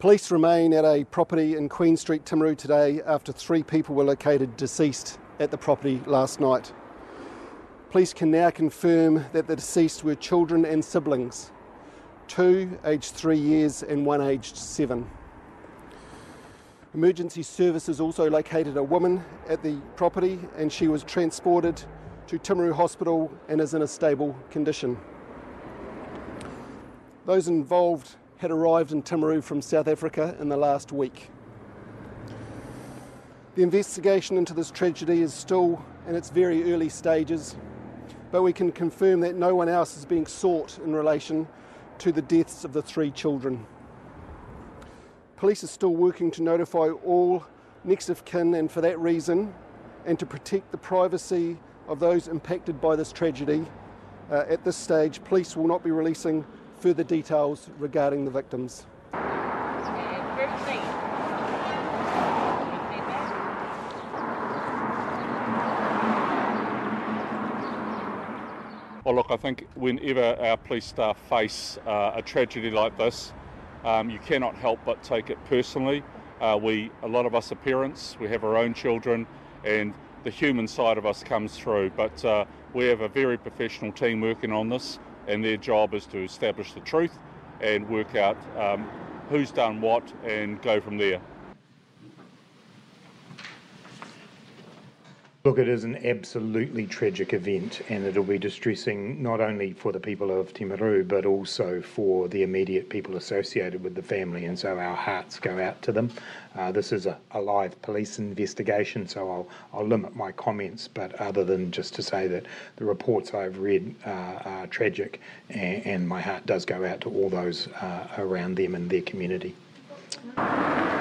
Police remain at a property in Queen Street, Timaru today after 3 people were located deceased at the property last night. Police can now confirm that the deceased were children and siblings, 2 aged 3 years and 1 aged 7. Emergency services also located a woman at the property and she was transported to Timaru Hospital and is in a stable condition. Those involved had arrived in Timaru from South Africa in the last week. The investigation into this tragedy is still in its very early stages, but we can confirm that no one else is being sought in relation to the deaths of the 3 children. Police are still working to notify all next of kin, and for that reason, and to protect the privacy of those impacted by this tragedy, at this stage, police will not be releasing further details regarding the victims. Well, look, I think whenever our police staff face a tragedy like this, you cannot help but take it personally. A lot of us are parents, we have our own children, and the human side of us comes through, but we have a very professional team working on this, and their job is to establish the truth and work out who's done what and go from there. Look, it is an absolutely tragic event, and it'll be distressing not only for the people of Timaru but also for the immediate people associated with the family, and so our hearts go out to them. This is a live police investigation, so I'll limit my comments, but other than just to say that the reports I've read are tragic, and my heart does go out to all those around them and their community.